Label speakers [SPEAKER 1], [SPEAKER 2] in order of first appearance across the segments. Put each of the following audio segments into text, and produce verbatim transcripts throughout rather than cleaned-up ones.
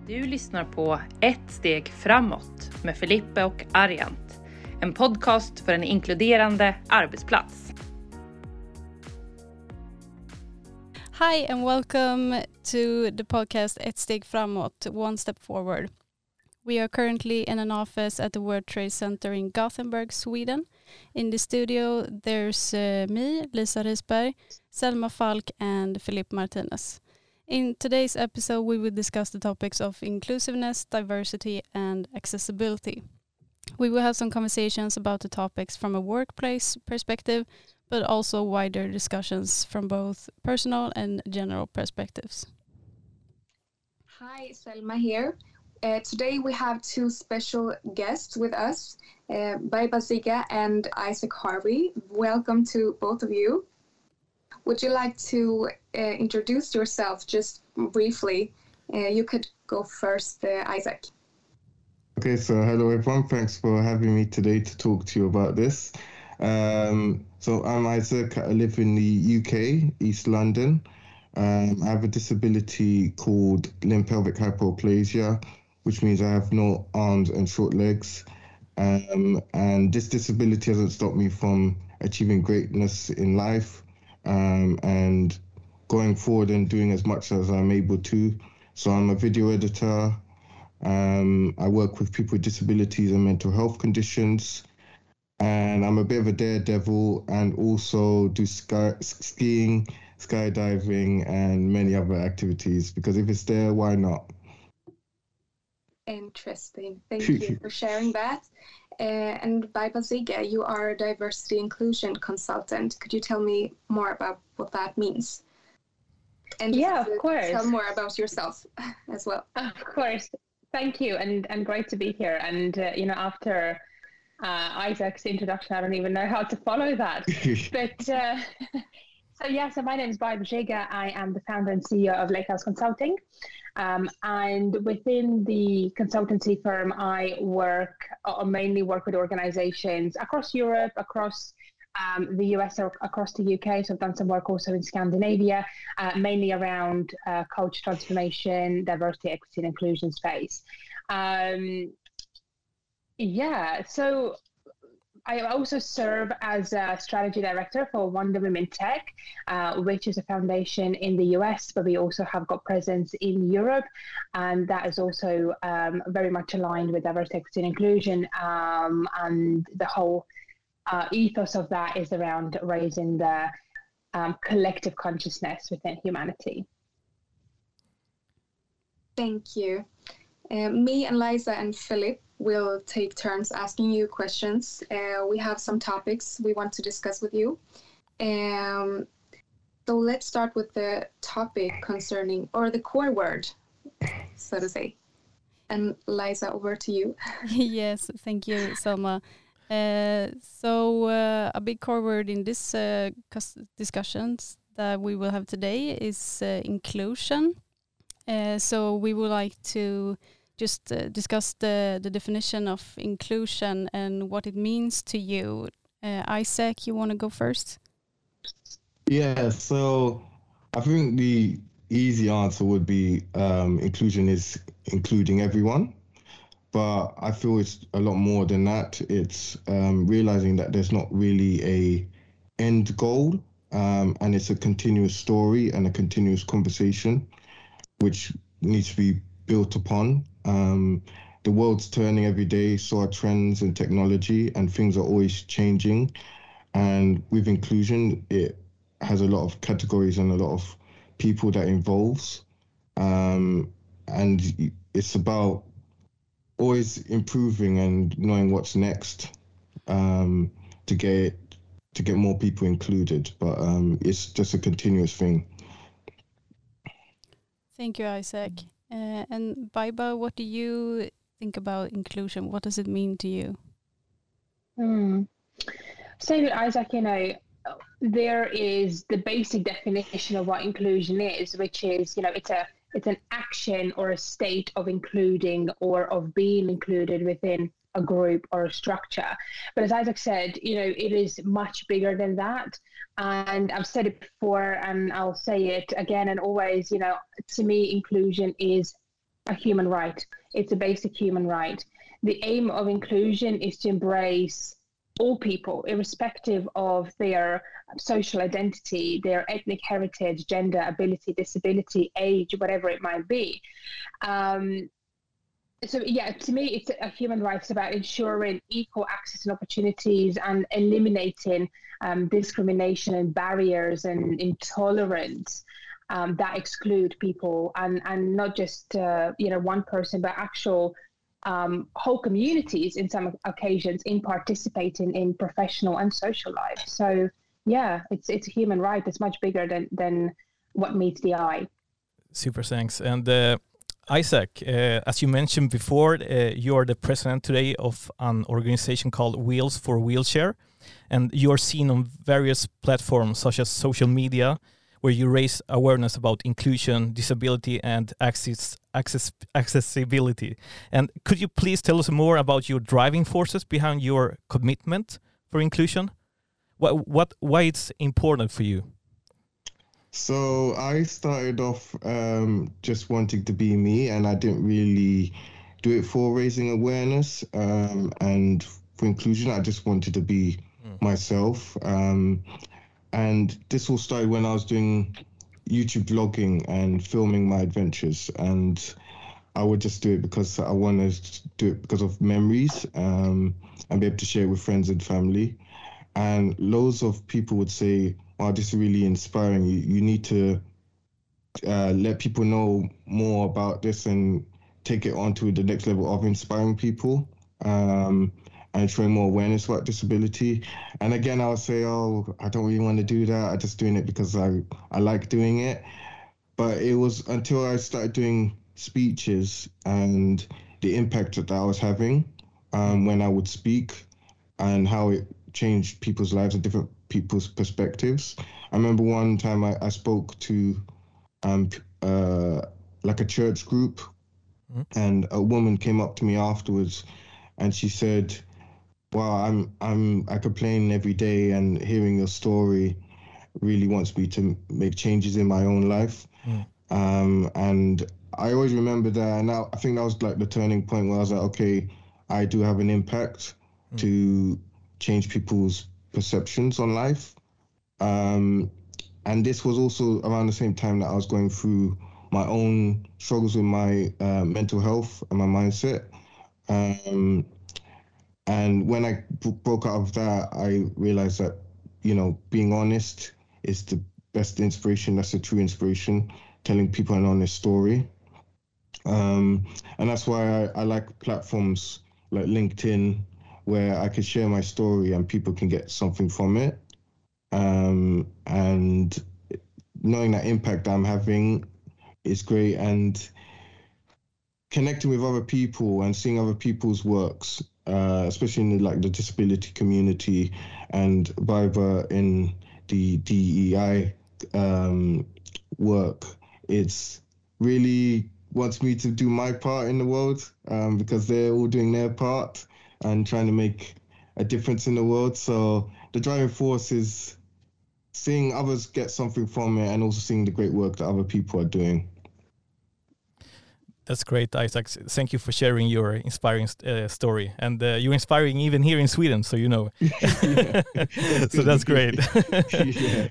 [SPEAKER 1] Du lyssnar på Ett steg framåt med Filippe och Arjant. En podcast för en inkluderande arbetsplats.
[SPEAKER 2] Hi and welcome to the podcast Ett steg framåt, One Step Forward. We are currently in an office at the World Trade Center in Gothenburg, Sweden. In the studio there's uh, me, Lisa Risberg, Selma Falk and Philippe Martinez. In today's episode, we will discuss the topics of inclusiveness, diversity, and accessibility. We will have some conversations about the topics from a workplace perspective, but also wider discussions from both personal and general perspectives.
[SPEAKER 3] Hi, Selma here. Uh, today we have two special guests with us, uh, Baiba Ziga and Isaac Harvey. Welcome to both of you. Would you like to uh, introduce yourself just briefly? Uh, you could go first, uh, Isaac.
[SPEAKER 4] Okay, so hello everyone. Thanks for having me today to talk to you about this. Um, so I'm Isaac. I live in the U K, East London. Um, I have a disability called limb pelvic hypoplasia, which means I have no arms and short legs. Um, and this disability hasn't stopped me from achieving greatness in life. Um, and going forward and doing as much as I'm able to. So I'm a video editor. Um, I work with people with disabilities and mental health conditions. And I'm a bit of a daredevil and also do sky, skiing, skydiving, and many other activities. Because if it's there, why not?
[SPEAKER 3] Interesting. Thank you for sharing that. Uh, and Baiba Ziga, you are a diversity inclusion consultant. Could you tell me more about what that means? And
[SPEAKER 5] yeah,
[SPEAKER 3] just, uh,
[SPEAKER 5] of course.
[SPEAKER 3] Tell more about yourself as well.
[SPEAKER 5] Of course. Thank you, and and great to be here. And uh, you know, after uh, Isaac's introduction, I don't even know how to follow that. but uh, so yeah, so my name is Baiba Ziga. I am the founder and C E O of Lakehouse Consulting. Um, and within the consultancy firm, I work or mainly work with organizations across Europe, across um, the U S, or across the U K. So I've done some work also in Scandinavia, uh, mainly around uh, culture transformation, diversity, equity, and inclusion space. Um, yeah, so I also serve as a strategy director for Wonder Women Tech, uh, which is a foundation in the U S, but we also have got presence in Europe. And that is also um, very much aligned with diversity, equity, and inclusion. Um, and the whole uh, ethos of that is around raising the um, collective consciousness within humanity.
[SPEAKER 3] Thank you. Uh, me and Liza and Philip will take turns asking you questions. Uh, we have some topics we want to discuss with you. Um, so let's start with the topic concerning, or the core word, so to say. And Liza, over to you.
[SPEAKER 2] Yes, thank you, Selma. Uh, so uh, a big core word in this uh, discussions that we will have today is uh, inclusion. Uh, so we would like to just uh, discuss the, the definition of inclusion and what it means to you. Uh, Isaac, you want to go first?
[SPEAKER 4] Yeah, so I think the easy answer would be um, inclusion is including everyone. But I feel it's a lot more than that. It's um, realizing that there's not really a end goal, um, and it's a continuous story and a continuous conversation, which needs to be built upon. Um, the world's turning every day, so are trends and technology, and things are always changing. And with inclusion, it has a lot of categories and a lot of people that involves. Um, and it's about always improving and knowing what's next um, to get to get more people included. But um, it's just a continuous thing.
[SPEAKER 2] Thank you, Isaac. Uh, and Baiba, what do you think about inclusion? What does it mean to you?
[SPEAKER 5] Hmm. Same with Isaac, you know, there is the basic definition of what inclusion is, which is, you know, it's a it's an action or a state of including or of being included within a group or a structure. But as Isaac said, you know, it is much bigger than that. And I've said it before and I'll say it again and always, you know, to me, inclusion is a human right. It's a basic human right. The aim of inclusion is to embrace all people, irrespective of their social identity, their ethnic heritage, gender, ability, disability, age, whatever it might be. Um, so yeah, to me, it's a human right. It's about ensuring equal access and opportunities and eliminating um, discrimination and barriers and intolerance um, that exclude people, and, and not just uh, you know one person, but actual um, whole communities in some occasions in participating in professional and social life. So yeah, it's it's a human right that's much bigger than than what meets the eye.
[SPEAKER 6] Super, thanks. And uh, Isaac, uh, as you mentioned before, uh, you are the president today of an organization called Wheels for Wheelchair, and you are seen on various platforms such as social media, where you raise awareness about inclusion, disability, and access, access, accessibility. And could you please tell us more about your driving forces behind your commitment for inclusion? What, what, why it's important for you?
[SPEAKER 4] So I started off um, just wanting to be me, and I didn't really do it for raising awareness um, and for inclusion. I just wanted to be mm. myself. Um, and this all started when I was doing YouTube vlogging and filming my adventures. And I would just do it because I wanted to do it because of memories um, and be able to share it with friends and family. And loads of people would say, wow, this is really inspiring. You, you need to uh, let people know more about this and take it on to the next level of inspiring people um, and showing more awareness about disability. And again, I would say, oh, I don't really want to do that. I'm just doing it because I, I like doing it. But it was until I started doing speeches and the impact that I was having um, when I would speak and how it changed people's lives and different people's perspectives. I remember one time I, I spoke to um uh like a church group, mm-hmm. and a woman came up to me afterwards and she said, wow, I'm I'm I complain every day, and hearing your story really wants me to make changes in my own life. Mm. Um and I always remember that, and now I think that was like the turning point where I was like, okay, I do have an impact mm. to change people's perceptions on life. Um, and this was also around the same time that I was going through my own struggles with my uh, mental health and my mindset. Um, and when I b- broke out of that, I realized that, you know, being honest is the best inspiration. That's the true inspiration, telling people an honest story. Um, and that's why I, I like platforms like LinkedIn, where I could share my story and people can get something from it. Um, and knowing that impact I'm having is great, and connecting with other people and seeing other people's works, uh, especially in the, like the disability community and Barbara in the D E I um, work, it's really wants me to do my part in the world um, because they're all doing their part and trying to make a difference in the world. So the driving force is seeing others get something from it and also seeing the great work that other people are doing.
[SPEAKER 6] That's great, Isaac. Thank you for sharing your inspiring uh, story. And uh, you're inspiring even here in Sweden, so you know. So that's great.
[SPEAKER 4] Yeah.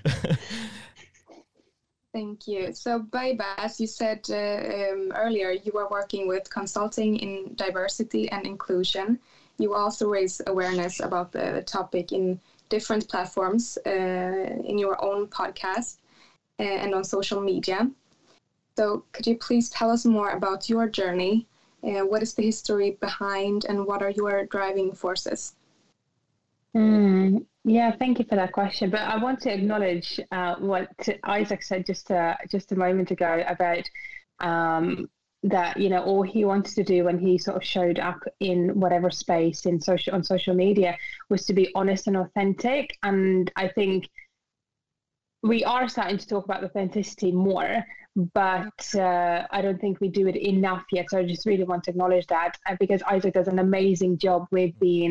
[SPEAKER 3] Thank you. So, Baiba, as you said uh, um, earlier, you are working with consulting in diversity and inclusion. You also raise awareness about the topic in different platforms, uh, in your own podcast uh, and on social media. So could you please tell us more about your journey? Uh, what is the history behind, and what are your driving forces?
[SPEAKER 5] Mm, yeah, thank you for that question. But I want to acknowledge uh, what Isaac said just a, just a moment ago about um, that, you know, all he wanted to do when he sort of showed up in whatever space in social on social media was to be honest and authentic. And I think we are starting to talk about authenticity more, but uh, I don't think we do it enough yet. So I just really want to acknowledge that, uh, because Isaac does an amazing job with being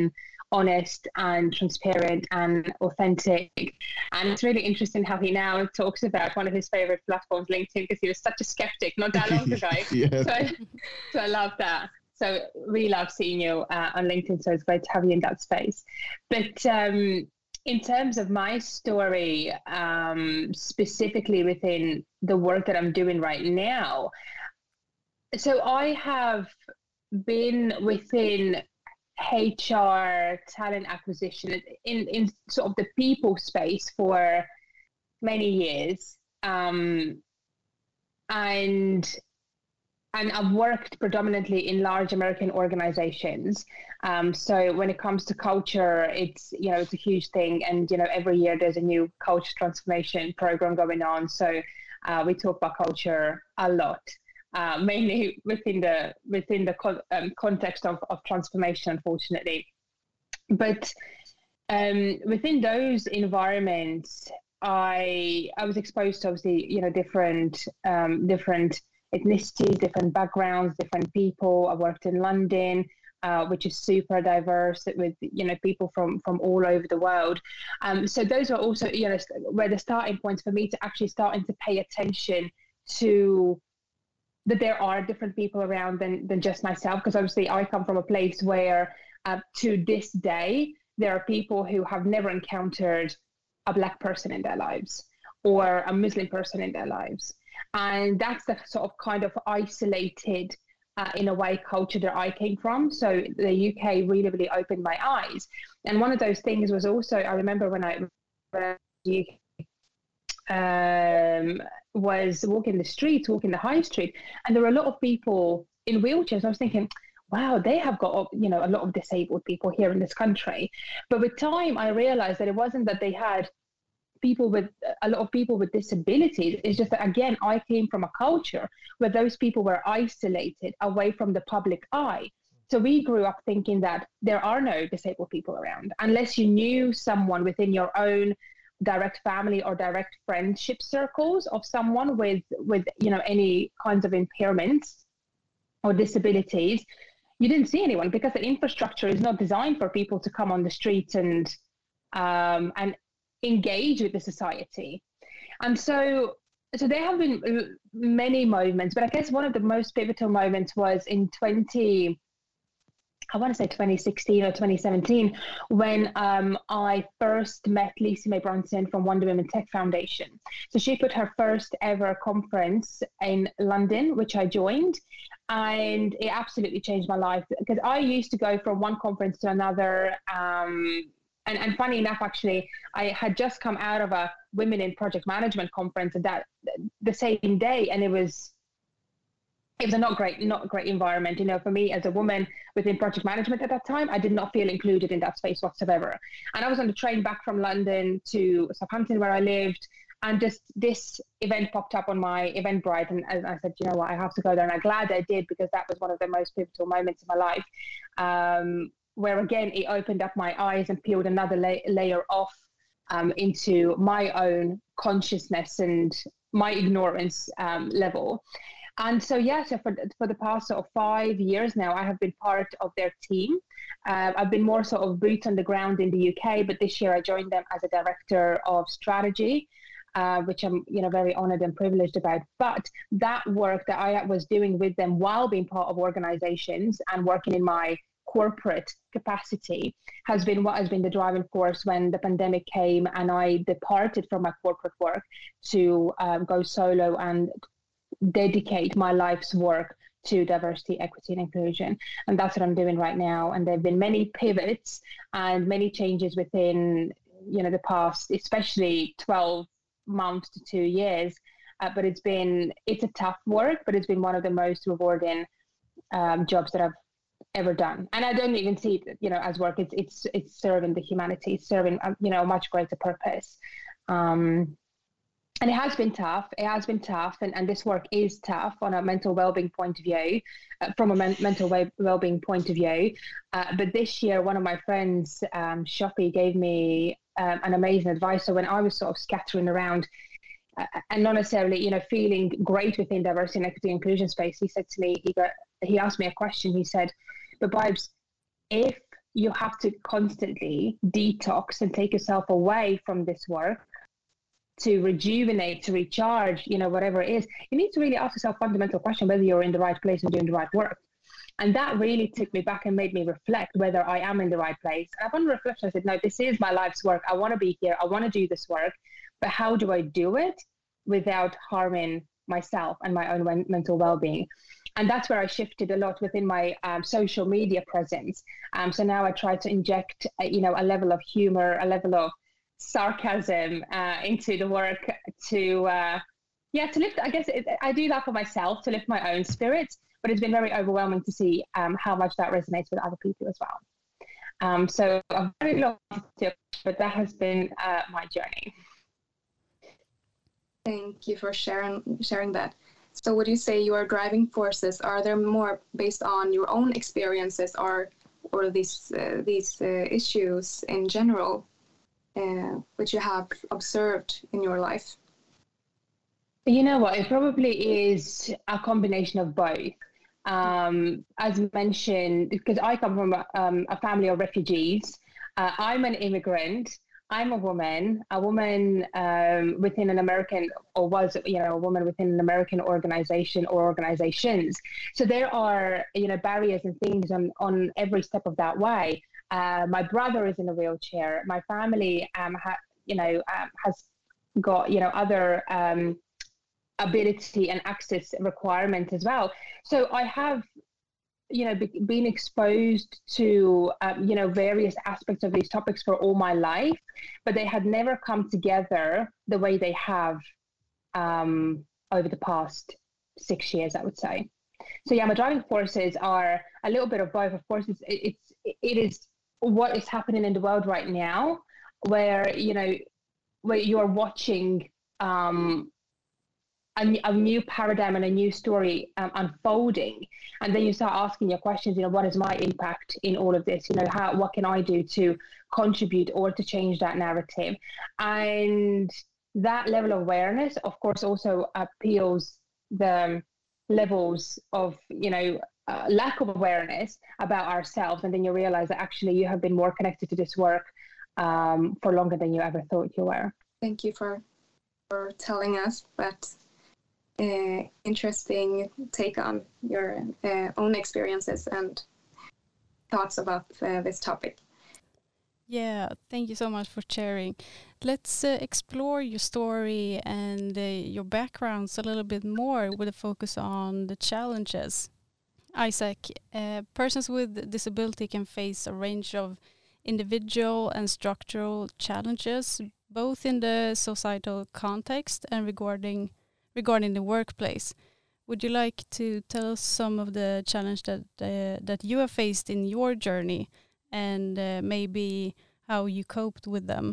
[SPEAKER 5] honest and transparent and authentic. And it's really interesting how he now talks about one of his favorite platforms, LinkedIn, because he was such a skeptic not that long ago.
[SPEAKER 4] Yes.
[SPEAKER 5] So, I, so I love that. So we love seeing you uh, on LinkedIn. So it's great to have you in that space. But um, in terms of my story, um, specifically within the work that I'm doing right now, so I have been within H R, talent acquisition, in, in sort of the people space for many years. Um, and and I've worked predominantly in large American organizations. Um, so when it comes to culture, it's, you know, it's a huge thing. And, you know, every year there's a new culture transformation program going on. So uh, we talk about culture a lot. Uh, mainly within the within the con- um, context of, of transformation, unfortunately. But um, within those environments, I I was exposed to obviously you know different um, different ethnicities, different backgrounds, different people. I worked in London, uh, which is super diverse with you know people from from all over the world. Um, so those are also you know where the starting points for me to actually starting to pay attention to that there are different people around than, than just myself, because obviously I come from a place where uh, to this day, there are people who have never encountered a Black person in their lives or a Muslim person in their lives. And that's the sort of kind of isolated, uh, in a way, culture that I came from. So the U K really, really opened my eyes. And one of those things was also, I remember when I when um was walking the streets, walking the high street, and there were a lot of people in wheelchairs. I was thinking, wow, they have got you know a lot of disabled people here in this country. But with time, I realized that it wasn't that they had people with a lot of people with disabilities. It's just that, again, I came from a culture where those people were isolated away from the public eye. So we grew up thinking that there are no disabled people around unless you knew someone within your own direct family or direct friendship circles of someone with with you know any kinds of impairments or disabilities. You didn't see anyone because the infrastructure is not designed for people to come on the streets and um and engage with the society. And so so there have been many moments, but I guess one of the most pivotal moments was in twenty I want to say twenty sixteen or twenty seventeen, when um, I first met Lisa May Bronson from Wonder Women Tech Foundation. So she put her first ever conference in London, which I joined, and it absolutely changed my life, because I used to go from one conference to another. Um, and, and funny enough, actually, I had just come out of a Women in Project Management conference at that the same day, and it was It was a not great, not a great environment. You know, for me as a woman within project management at that time, I did not feel included in that space whatsoever. And I was on the train back from London to Southampton, where I lived, and just this event popped up on my Eventbrite, and, and I said, you know what, I have to go there. And I'm glad I did, because that was one of the most pivotal moments in my life, um, where again it opened up my eyes and peeled another la- layer off um, into my own consciousness and my ignorance um, level. And so, yeah, so for, for the past sort of five years now, I have been part of their team. Uh, I've been more sort of boots on the ground in the U K, but this year I joined them as a director of strategy, uh, which I'm, you know, very honored and privileged about. But that work that I was doing with them while being part of organizations and working in my corporate capacity has been what has been the driving force when the pandemic came and I departed from my corporate work to um, go solo and dedicate my life's work to diversity, equity, and inclusion. And that's what I'm doing right now. And there have been many pivots and many changes within, you know, the past, especially twelve months to two years. Uh, but it's been, it's a tough work, but it's been one of the most rewarding um, jobs that I've ever done. And I don't even see it, you know, as work. It's it's it's serving the humanity, it's serving, you know, a much greater purpose. Um, And it has been tough. It has been tough. And, and this work is tough on a mental well-being point of view, uh, from a men- mental well-being point of view. Uh, but this year, one of my friends, um, Shoppy, gave me um, an amazing advice. So when I was sort of scattering around uh, and not necessarily, you know, feeling great within diversity and equity inclusion space, he said to me, he got, he asked me a question. He said, but Bibes, if you have to constantly detox and take yourself away from this work to rejuvenate, to recharge, you know, whatever it is, you need to really ask yourself a fundamental question whether you're in the right place and doing the right work. And that really took me back and made me reflect whether I am in the right place. And upon reflection, I said, no, this is my life's work. I want to be here. I want to do this work. But how do I do it without harming myself and my own mental well-being? And that's where I shifted a lot within my um, social media presence. Um, so now I try to inject, uh, you know, a level of humor, a level of sarcasm uh, into the work to, uh, yeah, to lift, I guess it, I do that for myself, to lift my own spirits, but it's been very overwhelming to see um, how much that resonates with other people as well. Um, so I'm very long, but that has been uh, my journey.
[SPEAKER 3] Thank you for sharing sharing that. So would you say your driving forces, are there more based on your own experiences or or these uh, these uh, issues in general, uh, which you have observed in your life?
[SPEAKER 5] You know what, it probably is a combination of both. Um, as mentioned, because I come from um, a family of refugees, uh, I'm an immigrant. I'm a woman, a woman um, within an American, or was, you know, a woman within an American organization or organizations. So there are, you know, barriers and things on, on every step of that way. Uh, my brother is in a wheelchair. My family, um, ha, you know, um, has got, you know, other um, ability and access requirements as well. So I have, you know, be, being exposed to, um, you know, various aspects of these topics for all my life, but they had never come together the way they have um, over the past six years, I would say. So yeah, my driving forces are a little bit of both. Of course, it's, it's it is what is happening in the world right now, where, you know, where you're watching um, A, a new paradigm and a new story um, unfolding, and then you start asking your questions. You know, what is my impact in all of this? You know, how what can I do to contribute or to change that narrative? And that level of awareness, of course, also appeals the levels of, you know, uh, lack of awareness about ourselves, and then you realize that actually you have been more connected to this work um, for longer than you ever thought you were.
[SPEAKER 3] Thank you for for telling us that. Uh, interesting take on your uh, own experiences and thoughts about uh, this topic.
[SPEAKER 2] Yeah, thank you so much for sharing. Let's uh, explore your story and uh, your backgrounds a little bit more with a focus on the challenges. Isaac, uh, persons with disability can face a range of individual and structural challenges, both in the societal context and regarding regarding the workplace. Would you like to tell us some of the challenges that uh, that you have faced in your journey, and uh, maybe how you coped with them?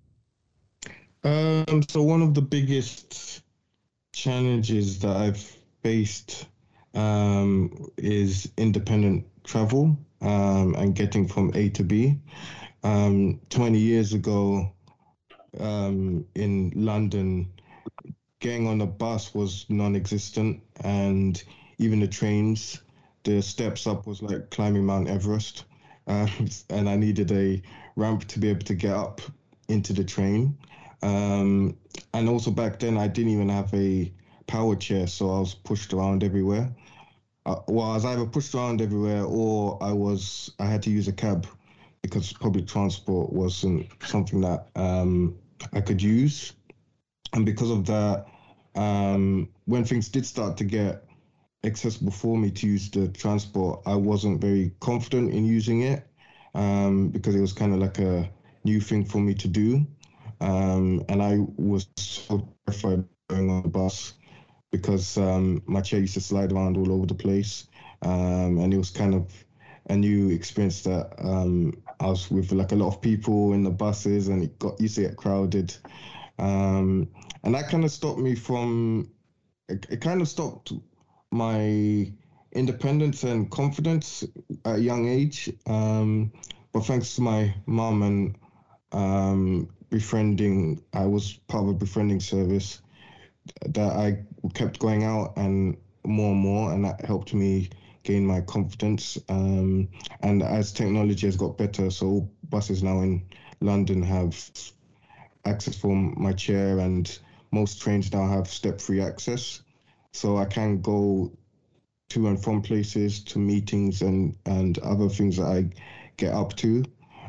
[SPEAKER 4] Um, so one of the biggest challenges that I've faced um, is independent travel um, and getting from A to B. Um, twenty years ago um, in London, getting on a bus was non-existent, and even the trains, the steps up was like climbing Mount Everest, uh, and I needed a ramp to be able to get up into the train. Um, and also back then I didn't even have a power chair, so I was pushed around everywhere. Uh, well, I was either pushed around everywhere or I was I had to use a cab because public transport wasn't something that um, I could use. And because of that, um, when things did start to get accessible for me to use the transport, I wasn't very confident in using it um, because it was kind of like a new thing for me to do. Um, and I was so terrified going on the bus because um, my chair used to slide around all over the place. Um, and it was kind of a new experience that um, I was with like a lot of people in the buses, and it got used to get crowded. Um, and that kind of stopped me from, it, it kind of stopped my independence and confidence at a young age. Um, but thanks to my mum and um, befriending, I was part of a befriending service that I kept going out and more and more, and that helped me gain my confidence. Um, and as technology has got better, so all buses now in London have access for my chair, and most trains now have step-free access. So I can go to and from places, to meetings and, and other things that I get up to.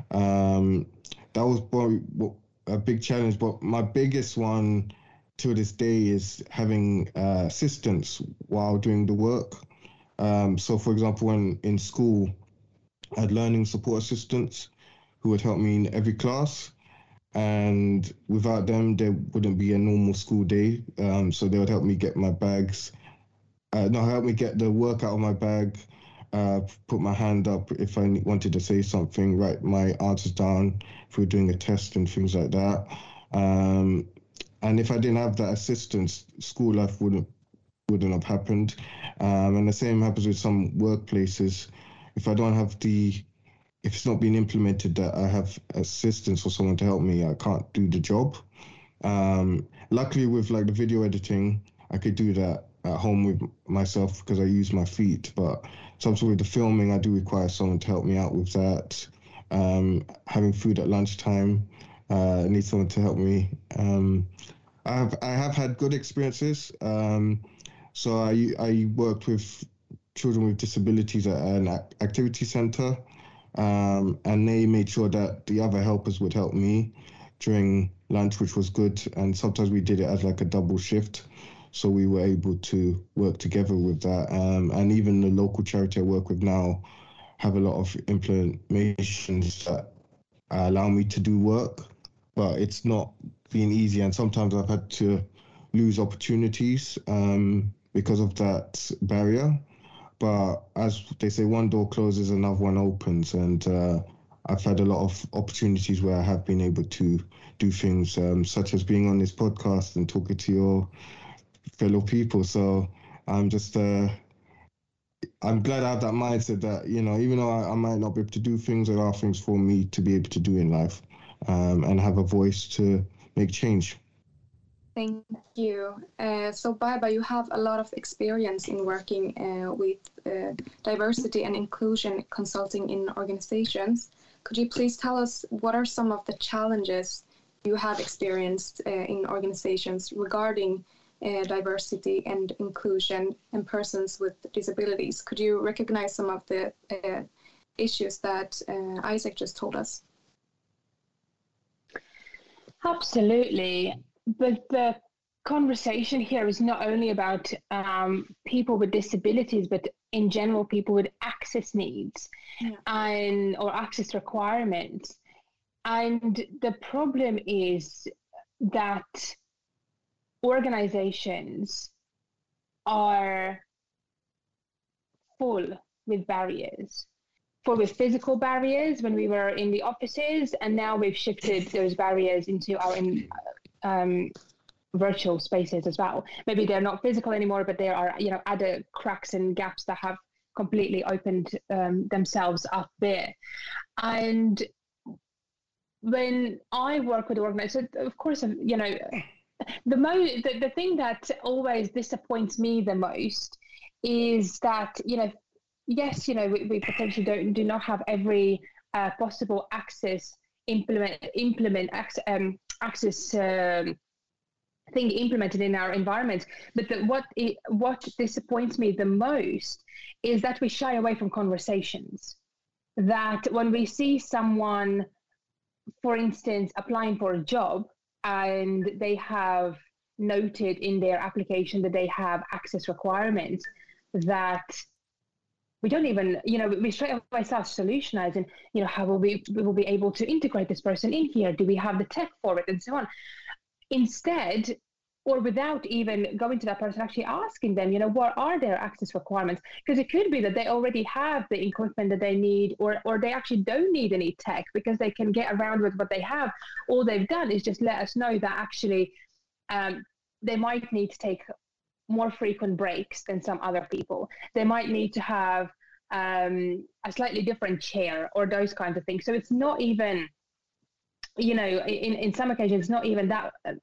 [SPEAKER 4] Um, that was probably a big challenge, but my biggest one to this day is having uh, assistance while doing the work. Um, so for example, when in school, I had learning support assistants who would help me in every class. And without them, there wouldn't be a normal school day. Um, so they would help me get my bags, uh, no, help me get the work out of my bag, uh, put my hand up if I wanted to say something, write my answers down if we were doing a test and things like that. Um, and if I didn't have that assistance, school life wouldn't wouldn't have happened. Um, and the same happens with some workplaces. If I don't have the If it's not being implemented that I have assistance or someone to help me, I can't do the job. Um, luckily with like the video editing, I could do that at home with myself because I use my feet. But sometimes with the filming, I do require someone to help me out with that. Um, having food at lunchtime, uh, I need someone to help me. Um, I have I have had good experiences. Um, so I I worked with children with disabilities at an activity centre. Um, and they made sure that the other helpers would help me during lunch, which was good. And sometimes we did it as like a double shift. So we were able to work together with that. Um, and even the local charity I work with now have a lot of implementations that allow me to do work, but it's not been easy. And sometimes I've had to lose opportunities um, because of that barrier. But as they say, one door closes, another one opens. And uh, I've had a lot of opportunities where I have been able to do things um, such as being on this podcast and talking to your fellow people. So I'm just, uh, I'm glad I have that mindset that, you know, even though I, I might not be able to do things, there are things for me to be able to do in life um, and have a voice to make change.
[SPEAKER 3] Thank you. Uh, so, Baiba, you have a lot of experience in working uh, with uh, diversity and inclusion consulting in organizations. Could you please tell us what are some of the challenges you have experienced uh, in organizations regarding uh, diversity and inclusion and persons with disabilities? Could you recognize some of the uh, issues that uh, Isaac just told us?
[SPEAKER 5] Absolutely. But the conversation here is not only about um, people with disabilities, but in general, people with access needs yeah. and or access requirements. And the problem is that organizations are full with barriers, full with physical barriers when we were in the offices, and now we've shifted those barriers into our in, um, virtual spaces as well. Maybe they're not physical anymore, but there are, you know, other cracks and gaps that have completely opened um, themselves up there. And when I work with organizations, of course, you know, the, mo- the the thing that always disappoints me the most is that, you know, yes, you know, we, we potentially don't do not have every uh, possible access implement implement access, um, access um, thing implemented in our environment. But the, what it, what disappoints me the most is that we shy away from conversations. That when we see someone, for instance, applying for a job and they have noted in their application that they have access requirements, that we don't even, you know, we straight away start solutionizing, you know, how will we, we will be able to integrate this person in here? Do we have the tech for it? And so on. Instead, or without even going to that person, actually asking them, you know, what are their access requirements? Because it could be that they already have the equipment that they need, or or they actually don't need any tech because they can get around with what they have. All they've done is just let us know that actually um, they might need to take more frequent breaks than some other people. They might need to have um, a slightly different chair or those kinds of things. So it's not even, you know, in, in some occasions, it's not even that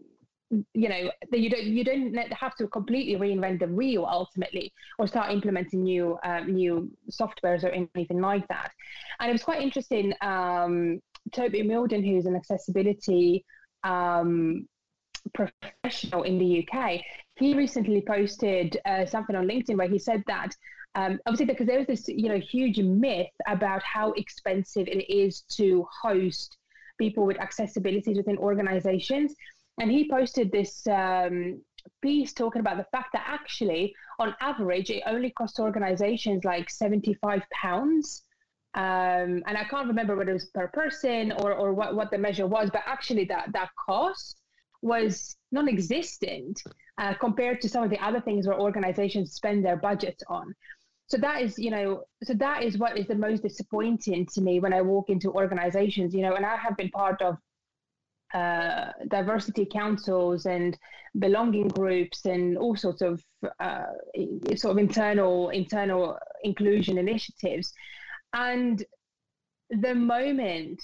[SPEAKER 5] you know, that you don't you don't have to completely reinvent the wheel ultimately, or start implementing new um, new softwares or anything like that. And it was quite interesting. Um, Toby Milden, who's an accessibility um, professional in the U K, he recently posted uh, something on LinkedIn where he said that um, obviously because there was this you know huge myth about how expensive it is to host people with accessibilities within organizations. And he posted this um, piece talking about the fact that actually, on average, it only costs organizations like seventy-five pounds. Um, and I can't remember whether it was per person or, or what, what the measure was, but actually that, that cost was non-existent uh, compared to some of the other things where organizations spend their budgets on. So that is, you know, so that is what is the most disappointing to me when I walk into organizations, you know, and I have been part of uh, diversity councils and belonging groups and all sorts of uh, sort of internal internal inclusion initiatives. And the moment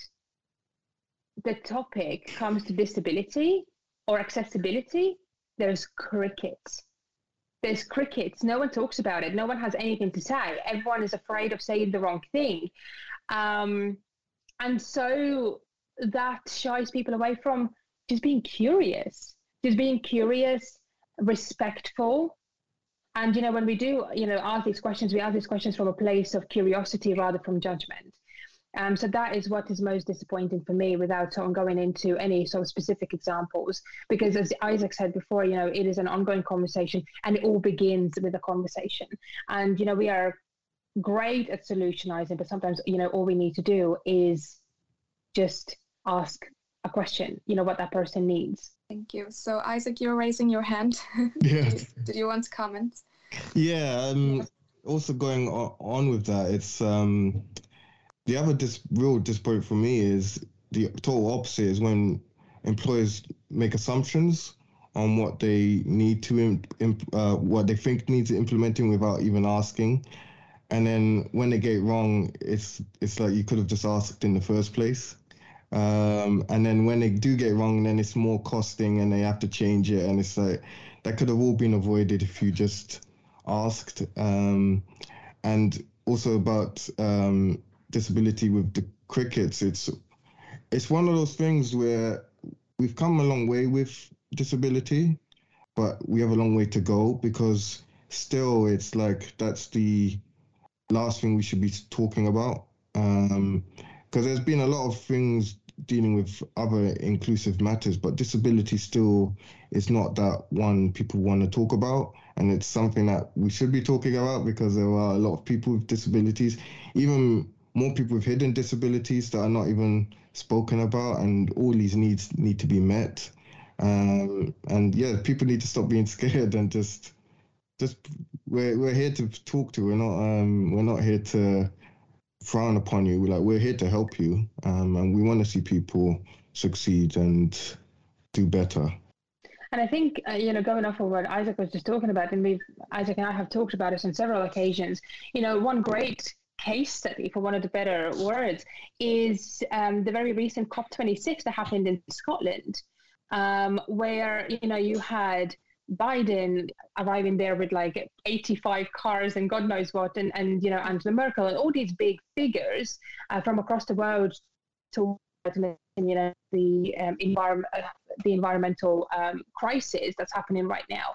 [SPEAKER 5] the topic comes to disability or accessibility, there's crickets. There's crickets. No one talks about it. No one has anything to say. Everyone is afraid of saying the wrong thing. Um, and so that shies people away from just being curious, just being curious, respectful. And, you know, when we do, you know, ask these questions, we ask these questions from a place of curiosity rather from judgment. Um, so that is what is most disappointing for me, without sort of going into any sort of specific examples, because as Isaac said before, you know, it is an ongoing conversation and it all begins with a conversation. And, you know, we are great at solutionizing, but sometimes, you know, all we need to do is just ask a question, you know, what that person needs.
[SPEAKER 3] Thank you. So Isaac, you're raising your hand.
[SPEAKER 4] Yes.
[SPEAKER 3] did, did you want to comment?
[SPEAKER 4] Yeah. Um, also going on, on with that, it's um, the other dis- real disappointment for me is the total opposite, is when employers make assumptions on what they need to, imp- imp- uh, what they think needs implementing without even asking. And then when they get it wrong, it's it's like you could have just asked in the first place. Um, and then when they do get it wrong, then it's more costing and they have to change it. And it's like, that could have all been avoided if you just asked. Um, and also about um, disability with the crickets, it's it's one of those things where we've come a long way with disability, but we have a long way to go, because still it's like that's the last thing we should be talking about. Um, because there's been a lot of things dealing with other inclusive matters, but disability still is not that one people want to talk about. And it's something that we should be talking about, because there are a lot of people with disabilities, even more people with hidden disabilities that are not even spoken about, and all these needs need to be met. Um, and yeah, people need to stop being scared and just, just we're we're here to talk to. We're not um we're not here to frown upon you. We're like we're here to help you, um, and we want to see people succeed and do better.
[SPEAKER 5] And I think, uh, you know, going off of what Isaac was just talking about, and we've, Isaac and I have talked about this on several occasions, you know, one great case study, for one of the better words, is um, the very recent COP twenty-six that happened in Scotland, um, where, you know, you had Biden arriving there with like eighty-five cars and God knows what, and, and you know, Angela Merkel and all these big figures uh, from across the world to, you know, the um, environment, uh, the environmental um, crisis that's happening right now.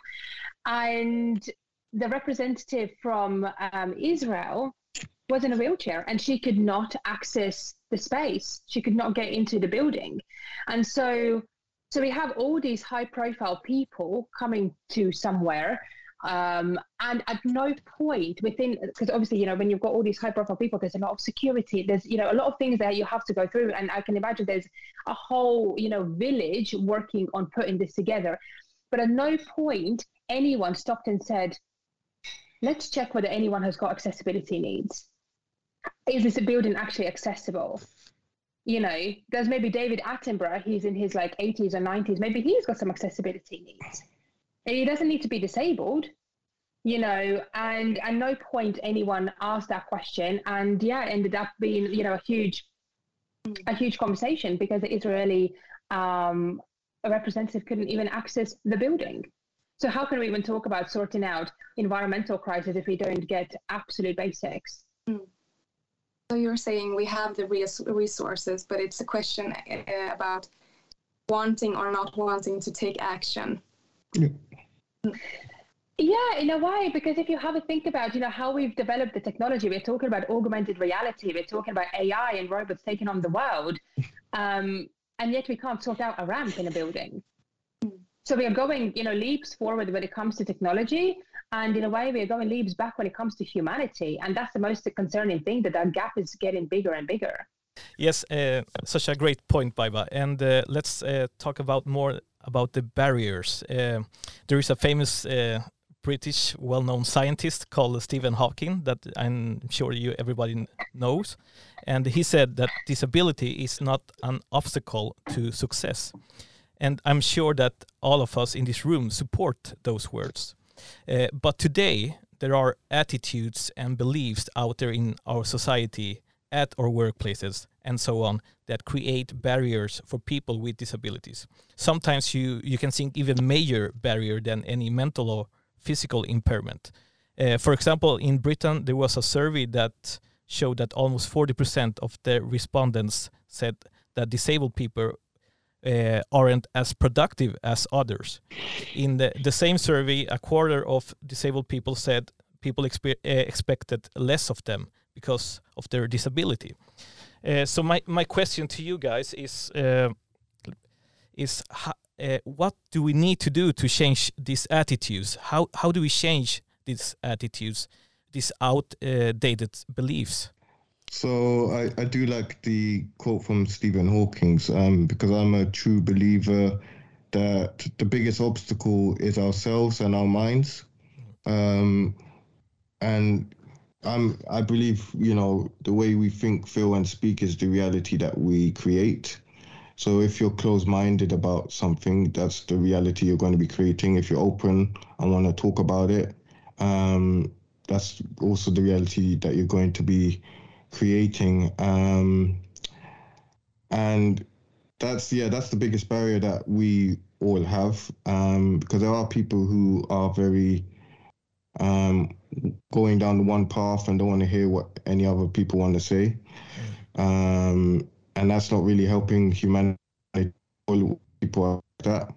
[SPEAKER 5] And the representative from um, Israel was in a wheelchair and she could not access the space. She could not get into the building. And so So we have all these high-profile people coming to somewhere, um, and at no point within, because obviously, you know, when you've got all these high-profile people, there's a lot of security. There's, you know, a lot of things that you have to go through, and I can imagine there's a whole, you know, village working on putting this together. But at no point anyone stopped and said, "Let's check whether anyone has got accessibility needs. Is this building actually accessible?" You know, there's maybe David Attenborough, he's in his like eighties or nineties, maybe he's got some accessibility needs. And he doesn't need to be disabled, you know, and at no point anyone asked that question. And yeah, it ended up being, you know, a huge, a huge conversation, because the Israeli um, a representative couldn't even access the building. So how can we even talk about sorting out environmental crisis if we don't get absolute basics?
[SPEAKER 3] Mm. So you're saying we have the res- resources, but it's a question uh, about wanting or not wanting to take action.
[SPEAKER 4] Yeah.
[SPEAKER 3] Mm.
[SPEAKER 5] Yeah, in a way, because if you have a think about, you know, how we've developed the technology, we're talking about augmented reality, we're talking about A I and robots taking on the world, um, and yet we can't sort out a ramp in a building. So we are going, you know, leaps forward when it comes to technology, and in a way we are going leaps back when it comes to humanity, and that's the most concerning thing, that that gap is getting bigger and bigger.
[SPEAKER 6] Yes, uh, such a great point, Baiba. And uh, let's uh, talk about more about the barriers. Uh, there is a famous uh, British well-known scientist called Stephen Hawking that I'm sure you everybody knows, and he said that disability is not an obstacle to success. And I'm sure that all of us in this room support those words. Uh, but today, there are attitudes and beliefs out there in our society, at our workplaces, and so on, that create barriers for people with disabilities. Sometimes you, you can think even major barrier than any mental or physical impairment. Uh, for example, in Britain, there was a survey that showed that almost forty percent of the respondents said that disabled people Uh, aren't as productive as others. In the, the same survey, a quarter of disabled people said people expe- uh, expected less of them because of their disability. Uh, so my, my question to you guys is, uh, is how, uh, what do we need to do to change these attitudes? How, how do we change these attitudes, these outdated beliefs?
[SPEAKER 4] So I, I do like the quote from Stephen Hawking, um, because I'm a true believer that the biggest obstacle is ourselves and our minds. Um, and I'm, I believe, you know, the way we think, feel, and speak is the reality that we create. So if you're closed-minded about something, that's the reality you're going to be creating. If you're open and want to talk about it, um, that's also the reality that you're going to be creating. Um, and that's, yeah, that's the biggest barrier that we all have, um, because there are people who are very um, going down the one path and don't want to hear what any other people want to say. Um, and that's not really helping humanity. All people are like that.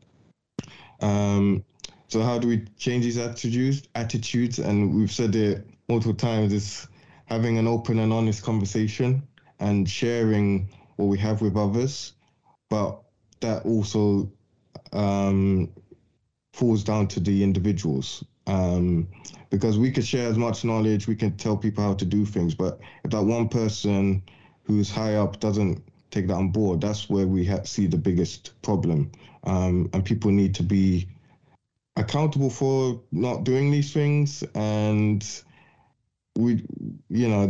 [SPEAKER 4] Um, so how do we change these attitudes? Attitudes, and we've said it multiple times, is having an open and honest conversation and sharing what we have with others, but that also um, falls down to the individuals, um, because we could share as much knowledge, we can tell people how to do things, but if that one person who's high up doesn't take that on board, that's where we ha- see the biggest problem. Um, and people need to be accountable for not doing these things, and we, you know,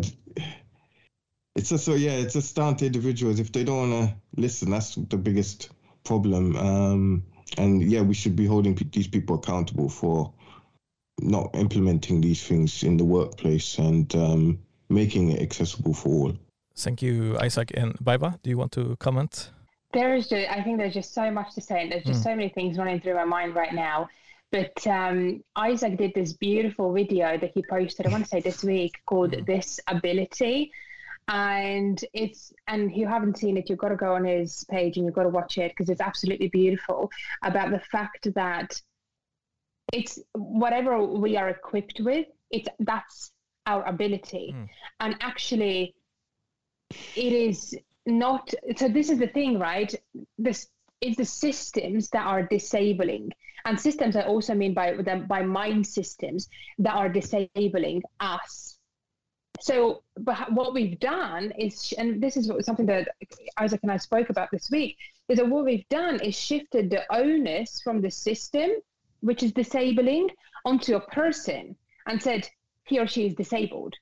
[SPEAKER 4] it's just, so yeah, it's just down to individuals. If they don't want to listen, that's the biggest problem. Um, and yeah, we should be holding p- these people accountable for not implementing these things in the workplace and um, making it accessible for all.
[SPEAKER 6] Thank you, Isaac. And Baiba, do you want to comment?
[SPEAKER 5] There's just, I think there's just so much to say, and there's just mm. so many things running through my mind right now. But um, Isaac did this beautiful video that he posted, I want to say this week, called mm. This Ability. And it's, and if you haven't seen it, you've got to go on his page and you've got to watch it, because it's absolutely beautiful, about the fact that it's whatever we are equipped with, it's that's our ability. Mm. And actually, it is not, so this is the thing, right? This is the systems that are disabling. And systems I also mean by them by mind systems that are disabling us. So, but what we've done is, and this is something that Isaac and I spoke about this week, is that what we've done is shifted the onus from the system, which is disabling, onto a person and said he or she is disabled.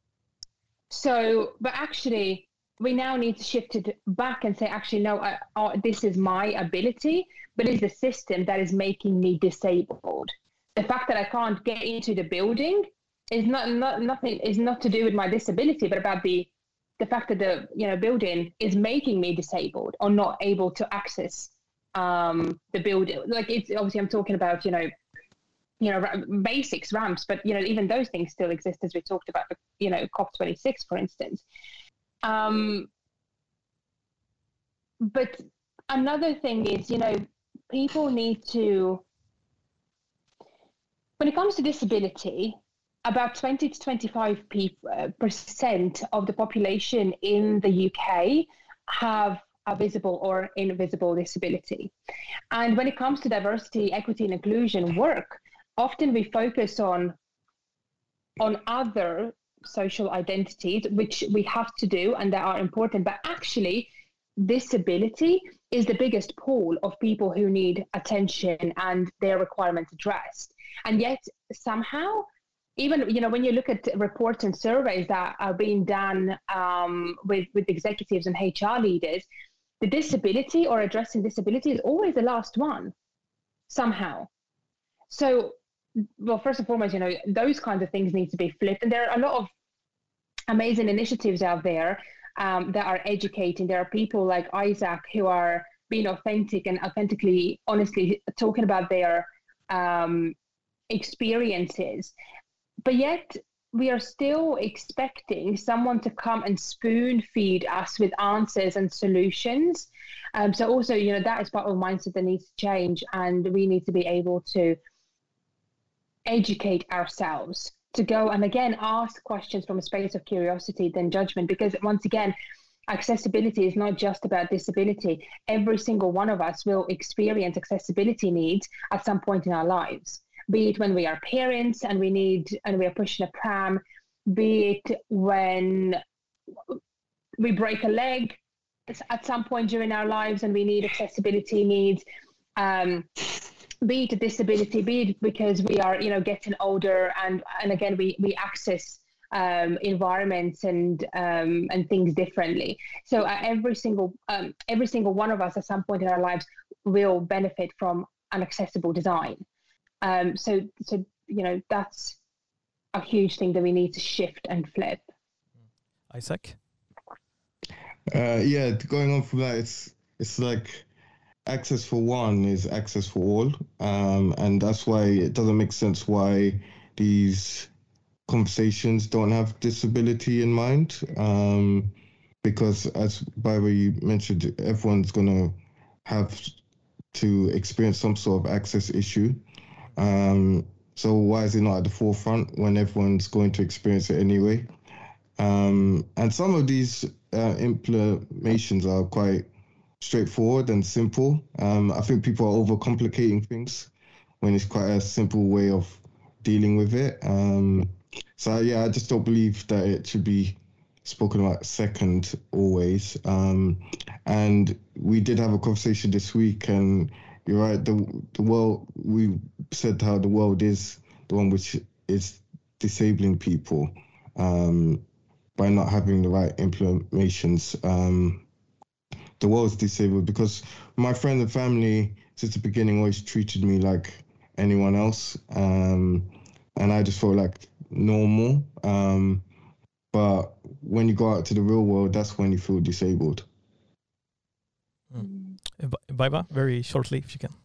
[SPEAKER 5] So, but actually, we now need to shift it back and say, actually, no, I, oh, this is my ability, but it's the system that is making me disabled. The fact that I can't get into the building is not, not nothing is not to do with my disability, but about the the fact that the you know building is making me disabled or not able to access um, the build. Like it's obviously I'm talking about, you know, you know, basics, ramps, but, you know, even those things still exist, as we talked about, you know, COP twenty-six, for instance. Um, but another thing is, you know, people need to, when it comes to disability, about twenty to twenty-five percent of the population in the U K have a visible or invisible disability. And when it comes to diversity, equity, and inclusion work, often we focus on, on other social identities, which we have to do and that are important, but actually disability is the biggest pool of people who need attention and their requirements addressed. And yet somehow, even, you know, when you look at reports and surveys that are being done um, with, with executives and H R leaders, the disability or addressing disability is always the last one, somehow. So, well, first and foremost, you know, those kinds of things need to be flipped. And there are a lot of amazing initiatives out there um, that are educating. There are people like Isaac who are being authentic and authentically, honestly talking about their um, experiences. But yet we are still expecting someone to come and spoon feed us with answers and solutions. Um, so also, you know, that is part of the mindset that needs to change, and we need to be able to educate ourselves, to go and again ask questions from a space of curiosity than judgment, because once again, accessibility is not just about disability. Every single one of us will experience accessibility needs at some point in our lives, be it when we are parents and we need and we are pushing a pram, be it when we break a leg at some point during our lives and we need accessibility needs, um, be it a disability, be it because we are, you know, getting older and and again we we access um, environments and um, and things differently. So uh, every single um, every single one of us at some point in our lives will benefit from an accessible design. Um, so, so you know, that's a huge thing that we need to shift and flip.
[SPEAKER 6] Isaac?
[SPEAKER 4] Uh, yeah, going on from that, it's it's like access for one is access for all, um, and that's why it doesn't make sense why these conversations don't have disability in mind, um, because as Barbara you mentioned, everyone's gonna have to experience some sort of access issue. Um, so why is it not at the forefront when everyone's going to experience it anyway? Um, and some of these uh, implementations are quite straightforward and simple. Um, I think people are overcomplicating things when it's quite a simple way of dealing with it. Um, so yeah, I just don't believe that it should be spoken about second always. Um, and we did have a conversation this week, and you're right, the the world, we said how the world is the one which is disabling people um, by not having the right implementations. Um, the world's disabled because my friends and family since the beginning always treated me like anyone else. Um, and I just felt like normal. Um, but when you go out to the real world, that's when you feel disabled.
[SPEAKER 6] Mm. Baiba, very shortly, if you can.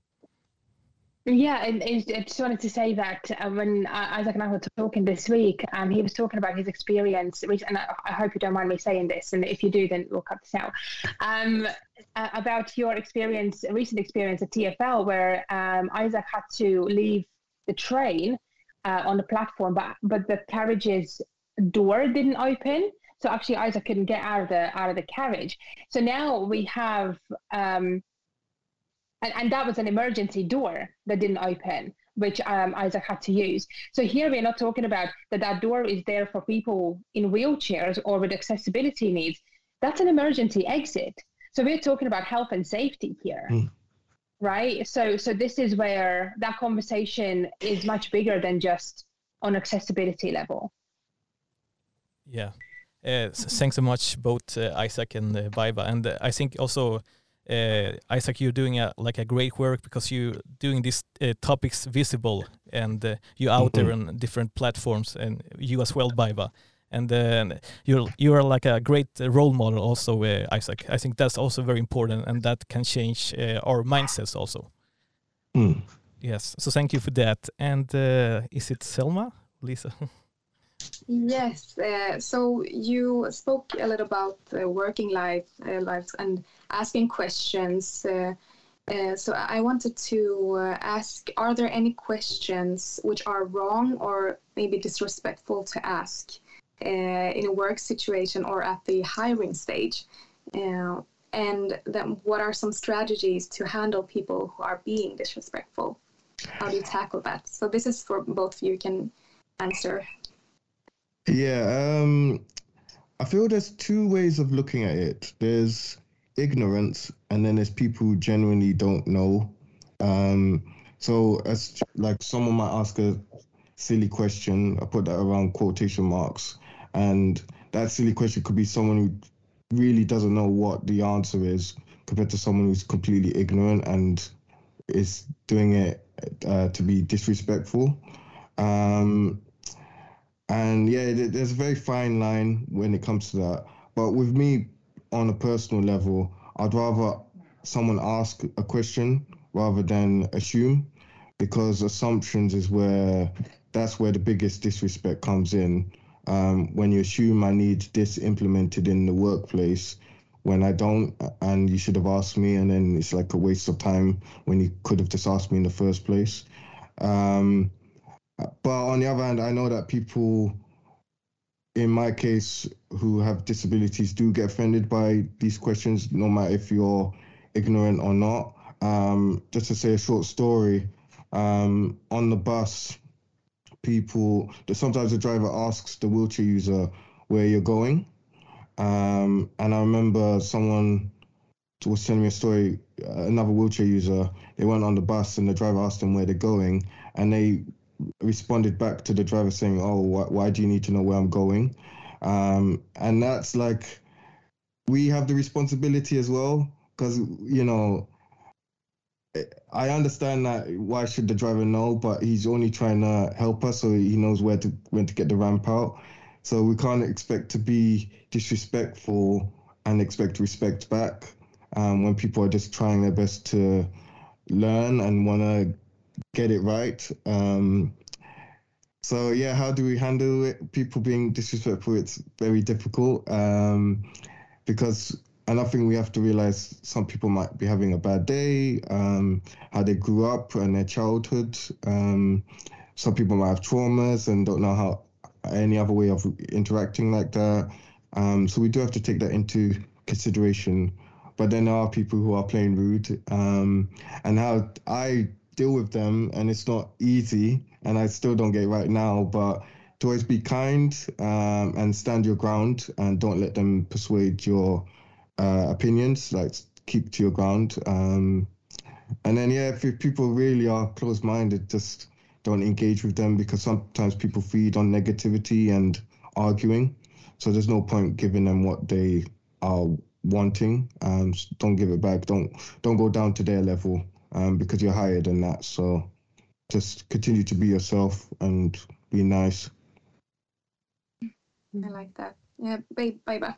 [SPEAKER 5] Yeah, and I just wanted to say that uh, when Isaac and I were talking this week, um, he was talking about his experience, and I, I hope you don't mind me saying this, and if you do, then we'll cut this out, um, uh, about your experience, recent experience at T F L, where um, Isaac had to leave the train uh, on the platform, but but the carriage's door didn't open. So actually Isaac couldn't get out of the out of the carriage. So now we have, um, and, and that was an emergency door that didn't open, which um, Isaac had to use. So here we're not talking about that that door is there for people in wheelchairs or with accessibility needs. That's an emergency exit. So we're talking about health and safety here, mm. right? So so this is where that conversation is much bigger than just on accessibility level.
[SPEAKER 6] Yeah. Uh, thanks so much, both uh, Isaac and uh, Baiba. And uh, I think also, uh, Isaac, you're doing a, like a great work because you're doing these uh, topics visible, and uh, you're out mm-hmm. there on different platforms, and you as well, Baiba. And uh, you're you're like a great role model also, uh, Isaac. I think that's also very important, and that can change uh, our mindsets also.
[SPEAKER 4] Mm.
[SPEAKER 6] Yes, so thank you for that. And uh, is it Selma, Lisa?
[SPEAKER 3] Yes. Uh, so you spoke a little about uh, working life, uh, lives and asking questions. Uh, uh, so I wanted to uh, ask: are there any questions which are wrong or maybe disrespectful to ask uh, in a work situation or at the hiring stage? Uh, and then, what are some strategies to handle people who are being disrespectful? How do you tackle that? So this is for both of you. You can answer.
[SPEAKER 4] Yeah, um, I feel there's two ways of looking at it. There's ignorance, and then there's people who genuinely don't know. Um, so as like someone might ask a silly question, I put that around quotation marks, and that silly question could be someone who really doesn't know what the answer is compared to someone who's completely ignorant and is doing it uh, to be disrespectful. Um, And yeah, there's a very fine line when it comes to that. But with me, on a personal level, I'd rather someone ask a question rather than assume, because assumptions is where, that's where the biggest disrespect comes in. Um, when you assume I need this implemented in the workplace when I don't, and you should have asked me, and then it's like a waste of time when you could have just asked me in the first place. Um, But on the other hand, I know that people, in my case, who have disabilities do get offended by these questions, no matter if you're ignorant or not. Um, just to say a short story, um, on the bus, people, sometimes the driver asks the wheelchair user where you're going. Um, and I remember someone was telling me a story, another wheelchair user, they went on the bus and the driver asked them where they're going, and they responded back to the driver saying, oh, wh- why do you need to know where I'm going? Um, and that's like, we have the responsibility as well, because, you know, I understand that why should the driver know, but he's only trying to help us so he knows where to when to get the ramp out. So we can't expect to be disrespectful and expect respect back um, when people are just trying their best to learn and want to get it right. Um, so yeah, how do we handle it? People being disrespectful, it's very difficult um, because another thing we have to realize, some people might be having a bad day, um, how they grew up and their childhood. Um, some people might have traumas and don't know how any other way of interacting like that. Um, so we do have to take that into consideration. But then there are people who are plain rude, um, and how I deal with them, and it's not easy, and I still don't get it right now, but to always be kind um, and stand your ground and don't let them persuade your uh, opinions, like keep to your ground. Um, and then, yeah, if, if people really are closed-minded, just don't engage with them, because sometimes people feed on negativity and arguing. So there's no point giving them what they are wanting. Um, don't give it back. Don't don't go down to their level um, because you're higher than that. So just continue to be yourself and be nice.
[SPEAKER 3] I like that. Yeah, bye bye.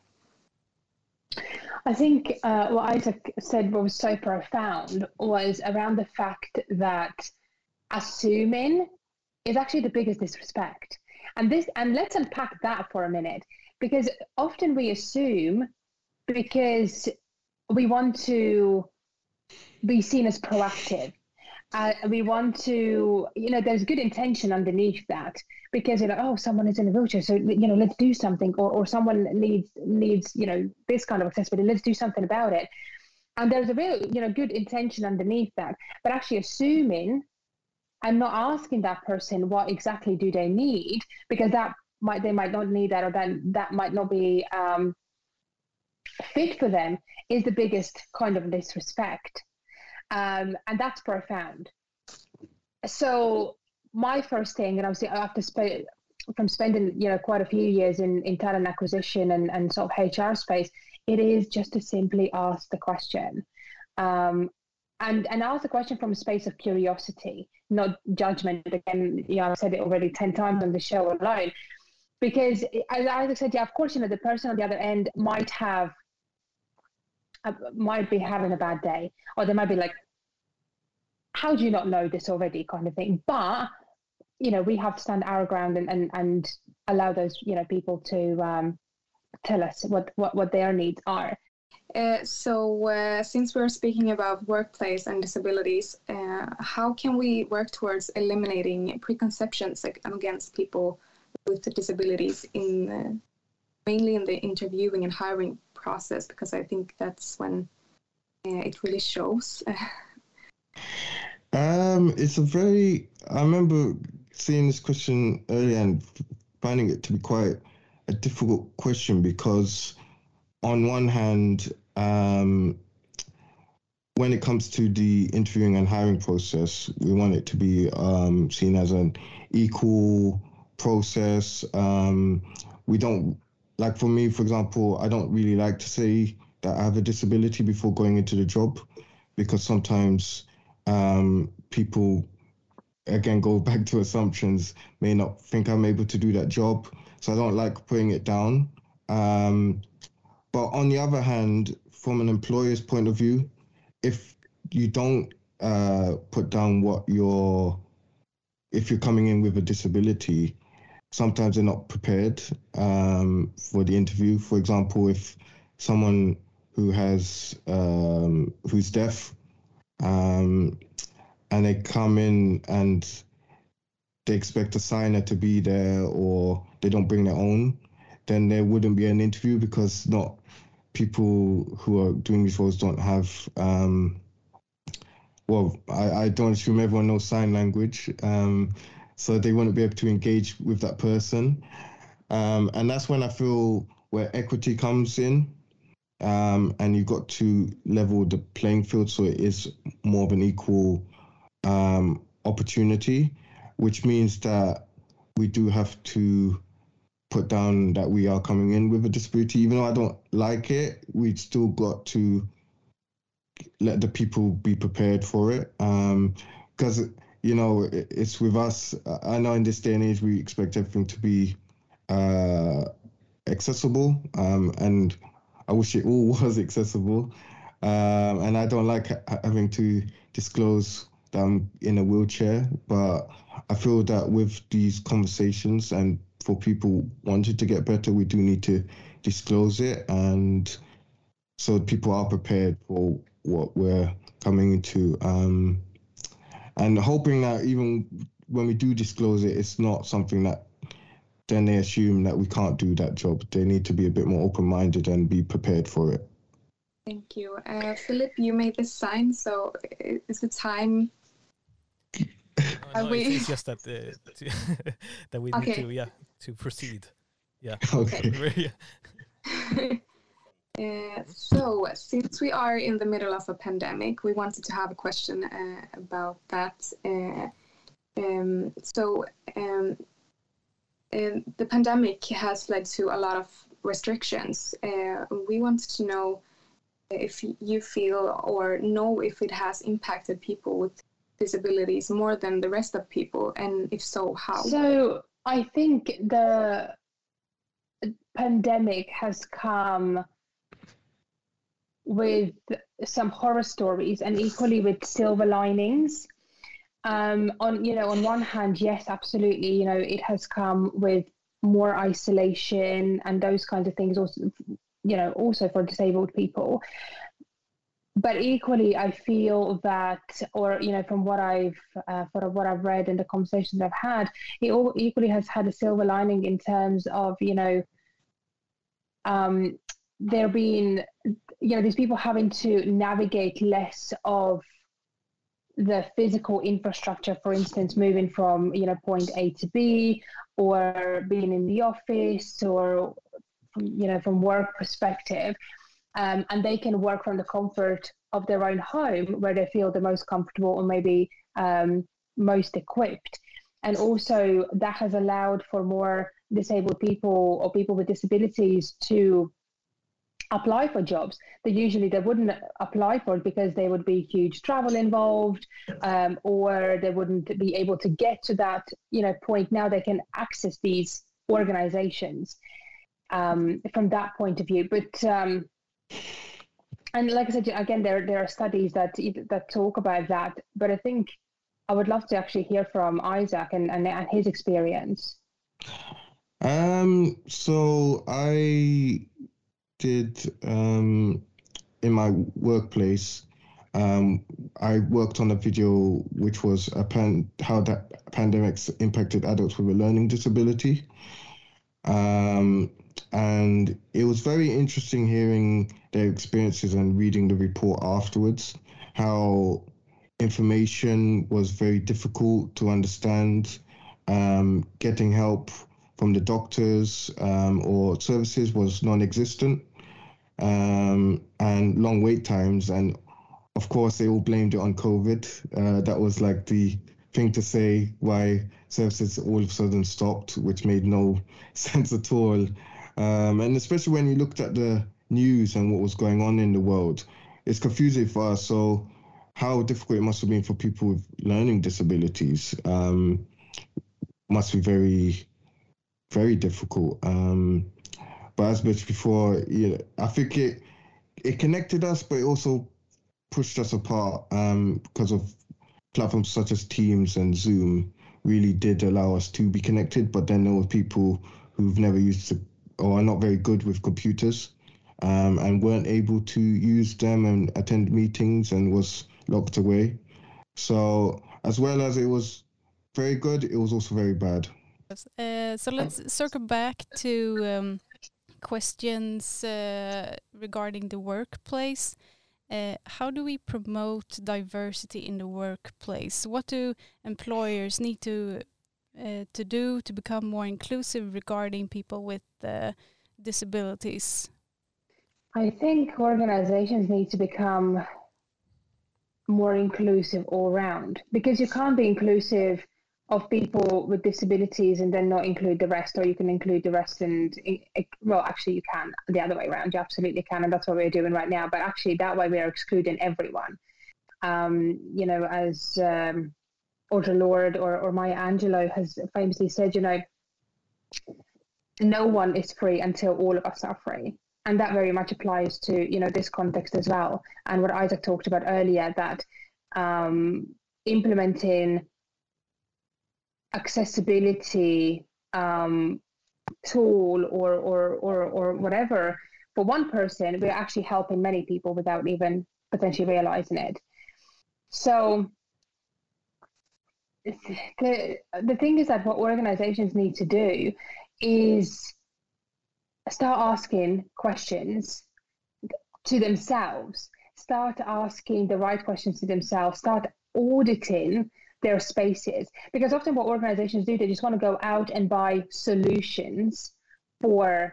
[SPEAKER 5] I think uh, what Isaac said was so profound was around the fact that assuming is actually the biggest disrespect. And this, and let's unpack that for a minute, because often we assume because we want to be seen as proactive. Uh, we want to, you know, there's good intention underneath that, because you're like, oh, someone is in a wheelchair, so, you know, let's do something, or, or someone needs, needs, you know, this kind of accessibility, let's do something about it. And there's a real, you know, good intention underneath that, but actually assuming and not asking that person what exactly do they need, because that might, they might not need that, or that, that might not be um, fit for them, is the biggest kind of disrespect. Um, and that's profound. So my first thing, and obviously after sp- from spending, you know, quite a few years in, in talent acquisition and, and sort of H R space, it is just to simply ask the question. Um, and, and ask the question from a space of curiosity, not judgment. Again, you know, I've said it already ten times on the show alone. because as I said, yeah, of course, you know, the person on the other end might have, uh, might be having a bad day, or they might be like, how do you not know this already, kind of thing. But, you know, we have to stand our ground and, and, and allow those, you know, people to um, tell us what, what, what their needs are.
[SPEAKER 3] Uh, so uh, since we're speaking about workplace and disabilities, uh, how can we work towards eliminating preconceptions against people with disabilities in uh, mainly in the interviewing and hiring process? Because I think that's when uh, it really shows.
[SPEAKER 4] um, it's a very, I remember seeing this question earlier and finding it to be quite a difficult question, because on one hand, um, when it comes to the interviewing and hiring process, we want it to be um, seen as an equal process. Um, we don't, like for me, for example, I don't really like to say that I have a disability before going into the job, because sometimes um, people, again, go back to assumptions, may not think I'm able to do that job. So I don't like putting it down. Um, But on the other hand, from an employer's point of view, if you don't uh, put down what you're, if you're coming in with a disability, sometimes they're not prepared um, for the interview. For example, if someone who has, um, who's deaf, um, and they come in and they expect a signer to be there, or they don't bring their own, then there wouldn't be an interview, because not people who are doing these roles don't have, um, well, I, I don't assume everyone knows sign language, um, so they wouldn't be able to engage with that person. Um, and that's when I feel where equity comes in, um, and you've got to level the playing field so it is more of an equal um, opportunity, which means that we do have to put down that we are coming in with a disability. Even though I don't like it, we've still got to let the people be prepared for it. Um, because, you know, it, it's with us. I know in this day and age, we expect everything to be uh, accessible. Um, and I wish it all was accessible. Um, and I don't like ha- having to disclose that I'm in a wheelchair. But I feel that with these conversations, and for people wanting to get better, we do need to disclose it, and so people are prepared for what we're coming into, um, and hoping that even when we do disclose it, it's not something that then they assume that we can't do that job. They need to be a bit more open-minded and be prepared for it.
[SPEAKER 3] Thank you. Uh, Philip, you made this sign, so is it time?
[SPEAKER 6] Oh, no, it's, it's just that uh, to that we
[SPEAKER 3] okay.
[SPEAKER 6] need to, yeah, to proceed. Yeah.
[SPEAKER 4] Okay.
[SPEAKER 3] uh, so, since we are in the middle of a pandemic, we wanted to have a question uh, about that. Uh, um, so, um, uh, the pandemic has led to a lot of restrictions. Uh, we wanted to know if you feel or know if it has impacted people with disabilities more than the rest of people, and if so, how?
[SPEAKER 5] So I think the pandemic has come with some horror stories and equally with silver linings. Um, on you know, on one hand, yes, absolutely, you know, it has come with more isolation and those kinds of things. Also, you know, also for disabled people. But equally, I feel that, or you know, from what I've, uh, from what I've read and the conversations I've had, it all equally has had a silver lining in terms of, you know, um, there being, you know, these people having to navigate less of the physical infrastructure, for instance, moving from, you know, point A to B, or being in the office, or from, you know, from work perspective. Um, and they can work from the comfort of their own home where they feel the most comfortable or maybe um, most equipped. And also that has allowed for more disabled people or people with disabilities to apply for jobs that usually they wouldn't apply for because there would be huge travel involved, um, or they wouldn't be able to get to that, you know, point. Now they can access these organizations um, from that point of view. But um, and like I said, again, there there are studies that that talk about that. But I think I would love to actually hear from Isaac and, and, and his experience.
[SPEAKER 4] Um, so I did um, in my workplace. Um, I worked on a video which was a pan- how that pandemics impacted adults with a learning disability. Um, and it was very interesting hearing their experiences and reading the report afterwards, how information was very difficult to understand, um, getting help from the doctors um, or services was non-existent, um, and long wait times. And of course, they all blamed it on COVID. Uh, that was like the thing to say why services all of a sudden stopped, which made no sense at all. Um, and especially when you looked at the news and what was going on in the world, it's confusing for us. So how difficult it must have been for people with learning disabilities um, must be very, very difficult. Um, but as mentioned before, yeah, I think it it connected us, but it also pushed us apart um, because of platforms such as Teams and Zoom really did allow us to be connected. But then there were people who've never used to, or are not very good with computers um, and weren't able to use them and attend meetings and was locked away. So as well as it was very good, it was also very bad.
[SPEAKER 2] Uh, so let's circle back to um, questions uh, regarding the workplace. Uh, how do we promote diversity in the workplace? What do employers need to uh, to do to become more inclusive regarding people with uh, disabilities?
[SPEAKER 5] I think organizations need to become more inclusive all round, because you can't be inclusive of people with disabilities and then not include the rest, or you can include the rest and, well, actually you can the other way around. You absolutely can, and that's what we're doing right now. But actually that way we are excluding everyone. Um, you know, as um, Audre Lorde or, or Maya Angelou has famously said, you know, no one is free until all of us are free. And that very much applies to, you know, this context as well. And what Isaac talked about earlier, that um, implementing accessibility um, tool or, or or or whatever for one person, we're actually helping many people without even potentially realizing it. So the the thing is that what organizations need to do is start asking questions to themselves, start asking the right questions to themselves, start auditing their spaces, because often what organizations do, they just want to go out and buy solutions for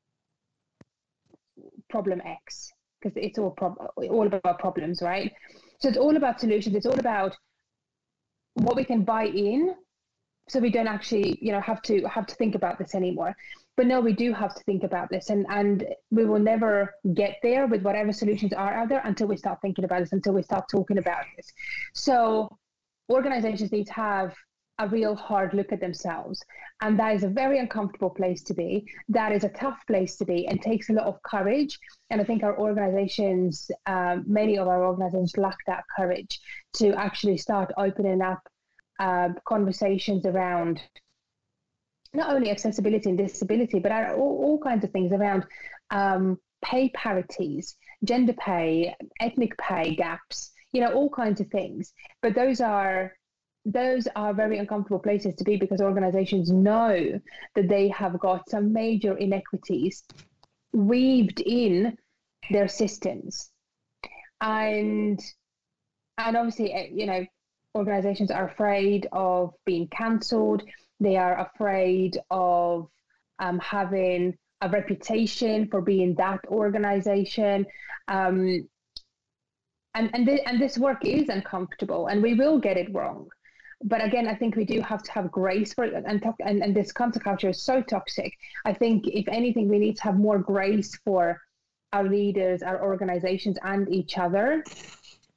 [SPEAKER 5] problem X, because it's all prob- all about problems, right? So it's all about solutions. It's all about what we can buy in, so we don't actually, you know, have to have to think about this anymore. But no, we do have to think about this, and and we will never get there with whatever solutions are out there until we start thinking about this, until we start talking about this. So organizations need to have a real hard look at themselves. And that is a very uncomfortable place to be. That is a tough place to be and takes a lot of courage. And I think our organizations, um, many of our organizations lack that courage to actually start opening up uh, conversations around not only accessibility and disability, but all, all kinds of things around um, pay parities, gender pay, ethnic pay gaps, you know, all kinds of things. But those are those are very uncomfortable places to be, because organizations know that they have got some major inequities weaved in their systems. And and obviously, you know, organizations are afraid of being cancelled. They are afraid of um, having a reputation for being that organization. Um, And and, th- and this work is uncomfortable, and we will get it wrong. But again, I think we do have to have grace for it. And, to- and, and this cancel culture is so toxic. I think, if anything, we need to have more grace for our leaders, our organizations, and each other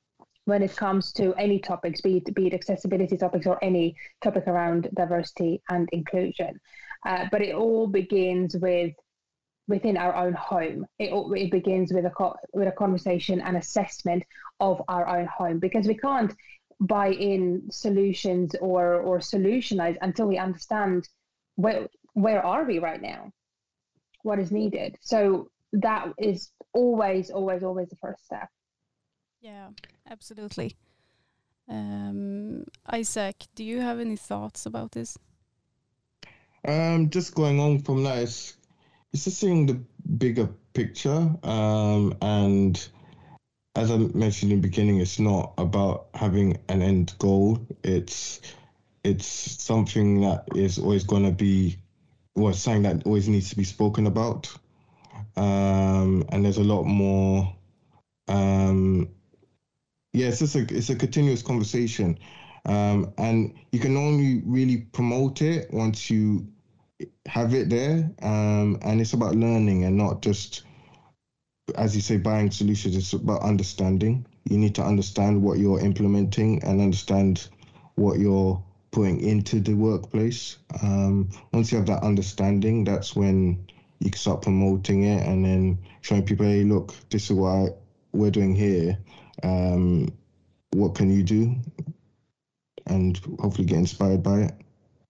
[SPEAKER 5] when it comes to any topics, be it, be it accessibility topics or any topic around diversity and inclusion. Uh, but it all begins with within our own home. It, it begins with a co- with a conversation and assessment of our own home, because we can't buy in solutions or or solutionize until we understand where where are we right now, what is needed. So that is always, always, always the first step.
[SPEAKER 2] Yeah, absolutely. Um, Isaac, do you have any thoughts about this?
[SPEAKER 4] Um, just going on from that, it's, it's just seeing the bigger picture. Um, and as I mentioned in the beginning, it's not about having an end goal. It's it's something that is always going to be, well, something that always needs to be spoken about. Um, and there's a lot more. Um, yeah, it's just a it's a continuous conversation, um, and you can only really promote it once you have it there. Um, and it's about learning and not just, as you say, buying solutions. It's about understanding. You need to understand what you're implementing and understand what you're putting into the workplace. Um, once you have that understanding, that's when you can start promoting it and then showing people, hey, look, this is what I, we're doing here. Um, what can you do? And hopefully get inspired by it.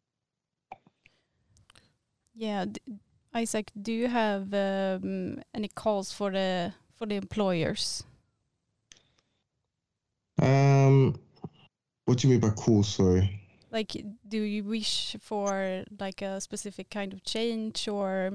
[SPEAKER 2] Yeah, D- Isaac, do you have um, any calls for the for the employers?
[SPEAKER 4] Um, what do you mean by cool? Sorry.
[SPEAKER 2] Like, do you wish for like a specific kind of change, or?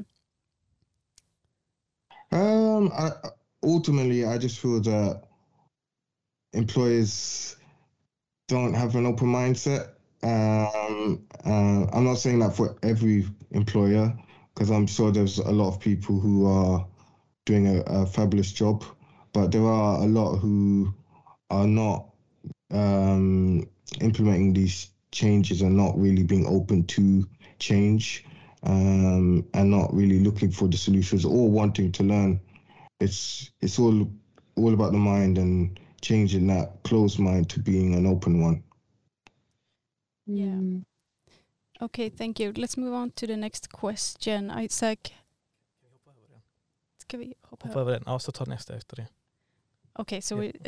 [SPEAKER 4] Um, I, ultimately, I just feel that employers don't have an open mindset. Um, uh, I'm not saying that for every employer, because I'm sure there's a lot of people who are doing a, a fabulous job, but there are a lot who are not um, implementing these changes and not really being open to change, um, and not really looking for the solutions or wanting to learn. It's it's all all about the mind and changing that closed mind to being an open one.
[SPEAKER 2] Yeah.
[SPEAKER 5] Mm.
[SPEAKER 2] Okay, thank you. Let's move on to the next question. Isaac. Ska vi hoppa
[SPEAKER 6] Hoppa över den. Ja, så ta nästa efter det.
[SPEAKER 2] Okay, so
[SPEAKER 6] Yeah.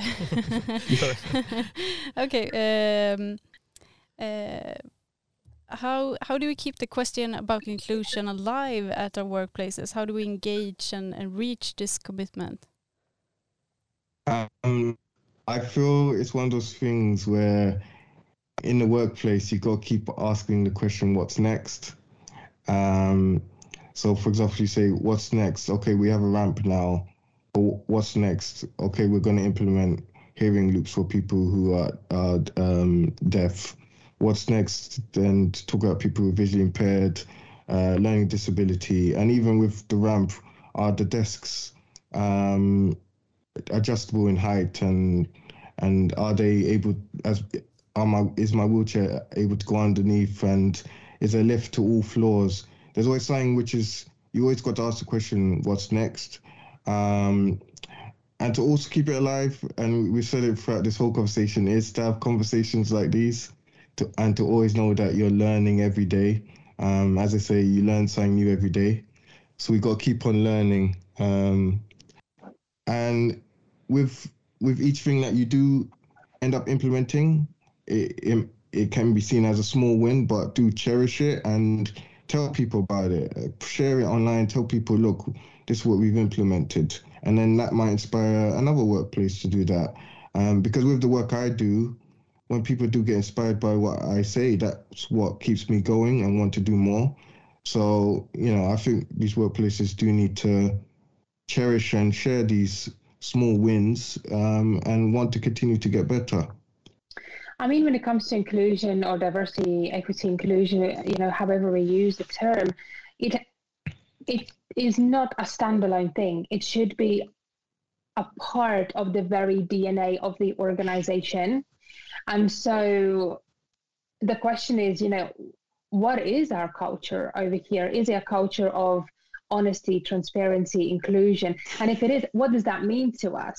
[SPEAKER 2] we okay. Um, uh, how how do we keep the question about inclusion alive at our workplaces? How do we engage and, and reach this commitment?
[SPEAKER 4] Um, I feel it's one of those things where in the workplace, you got to keep asking the question, what's next? Um, so, for example, you say, what's next? Okay, we have a ramp now. But what's next? Okay, we're going to implement hearing loops for people who are, are um, deaf. What's next? Then to talk about people who are visually impaired, uh, learning disability, and even with the ramp, are the desks um, adjustable in height, and and are they able, as are my is my wheelchair able to go underneath, and is there a lift to all floors? There's always something which is, you always got to ask the question, what's next? Um, and to also keep it alive, and we said it throughout this whole conversation, is to have conversations like these, to, and to always know that you're learning every day. Um, as I say, you learn something new every day. So we got to keep on learning. Um, and with with each thing that you do end up implementing, it, it, it can be seen as a small win, but do cherish it and tell people about it. Share it online, tell people, look, this is what we've implemented. And then that might inspire another workplace to do that. Um, because with the work I do, when people do get inspired by what I say, that's what keeps me going and want to do more. So, you know, I think these workplaces do need to cherish and share these small wins, um, and want to continue to get better.
[SPEAKER 5] I mean, when it comes to inclusion or diversity, equity, inclusion, you know, however we use the term, it it is not a standalone thing. It should be a part of the very D N A of the organization. And so the question is, you know, what is our culture over here? Is it a culture of honesty, transparency, inclusion? And if it is, what does that mean to us?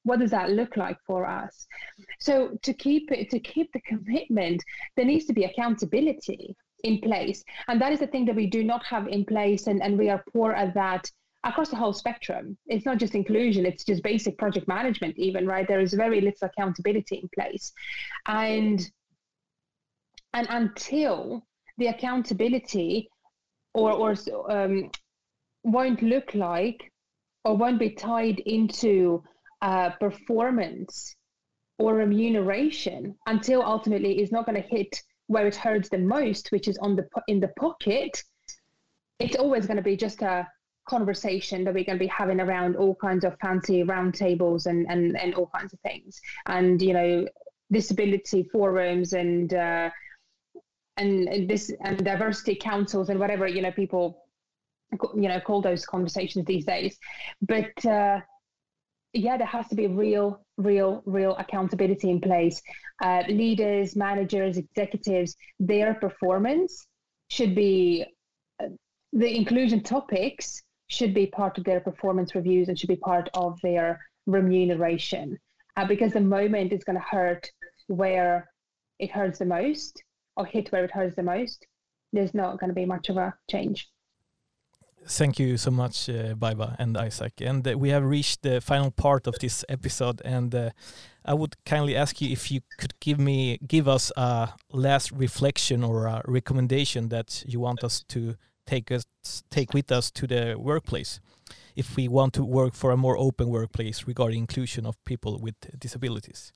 [SPEAKER 5] what does that look like for us? So to keep it, to keep the commitment, there needs to be accountability in place. And that is the thing that we do not have in place. And, and we are poor at that across the whole spectrum. It's not just inclusion, it's just basic project management even, right? There is very little accountability in place. And, and until the accountability or, or um, won't look like or won't be tied into uh, performance or remuneration, until ultimately it's not going to hit where it hurts the most, which is on the in the pocket, it's always going to be just a conversation that we're going to be having around all kinds of fancy roundtables and, and, and all kinds of things. And, you know, disability forums and, uh, and, and this and diversity councils and whatever, you know, people, you know, call those conversations these days. But uh, yeah, there has to be real, real, real accountability in place. Uh, leaders, managers, executives, their performance should be, uh, the inclusion topics should be part of their performance reviews and should be part of their remuneration. Uh, because the moment it's going to hurt where it hurts the most or hit where it hurts the most, there's not going to be much of a change.
[SPEAKER 6] Thank you so much, uh, Baiba and Isaac. And uh, we have reached the final part of this episode. And uh, I would kindly ask you if you could give me, give us a last reflection or a recommendation that you want us to take us, take with us to the workplace, if we want to work for a more open workplace regarding inclusion of people with disabilities.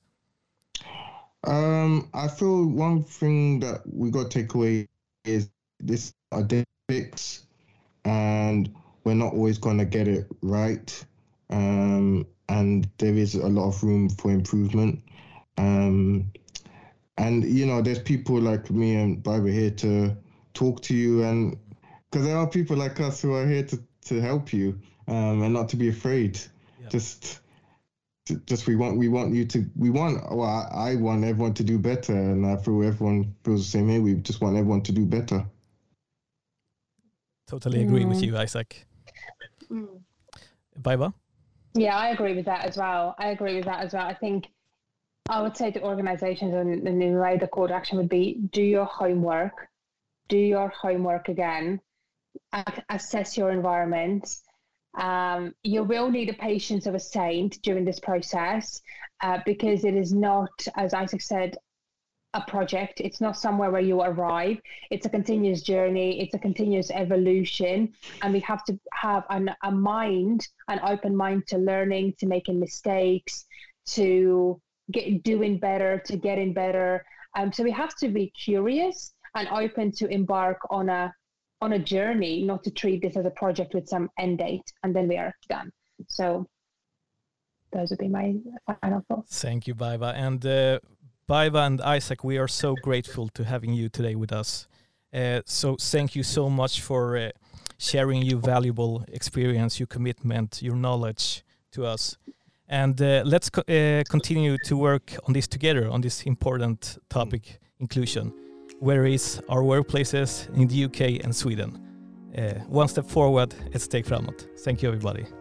[SPEAKER 4] Um, I feel one thing that we got to take away is this are fix. And we're not always going to get it right. Um, and there is a lot of room for improvement. Um, and, you know, there's people like me and Baiba here to talk to you. And because there are people like us who are here to, to help you um, and not to be afraid. Yeah. Just, just we want we want you to, we want, well, I, I want everyone to do better. And I feel everyone feels the same way. We just want everyone to do better.
[SPEAKER 6] Totally agree mm. with you, Isaac.
[SPEAKER 5] Mm.
[SPEAKER 6] Baiba?
[SPEAKER 5] Yeah, I agree with that as well. I agree with that as well. I think I would say to organizations, and, and in a way the call to action would be, do your homework, do your homework again, assess your environment. Um, you will need the patience of a saint during this process uh, because it is not, as Isaac said, a project. It's not somewhere where you arrive. It's a continuous journey. It's a continuous evolution. And we have to have an, a mind, an open mind to learning, to making mistakes, to get doing better, to getting better. Um, so we have to be curious and open to embark on a on a journey, not to treat this as a project with some end date and then we are done. So those would be my final thoughts.
[SPEAKER 6] Thank you, Baiba. And uh, Baiba and Isaac, we are so grateful to having you today with us. Uh, so thank you so much for uh, sharing your valuable experience, your commitment, your knowledge to us. And uh, let's co uh, continue to work on this together, on this important topic, inclusion. Where is our workplaces in the U K and Sweden? Uh, one step forward, ett steg framåt. Thank you, everybody.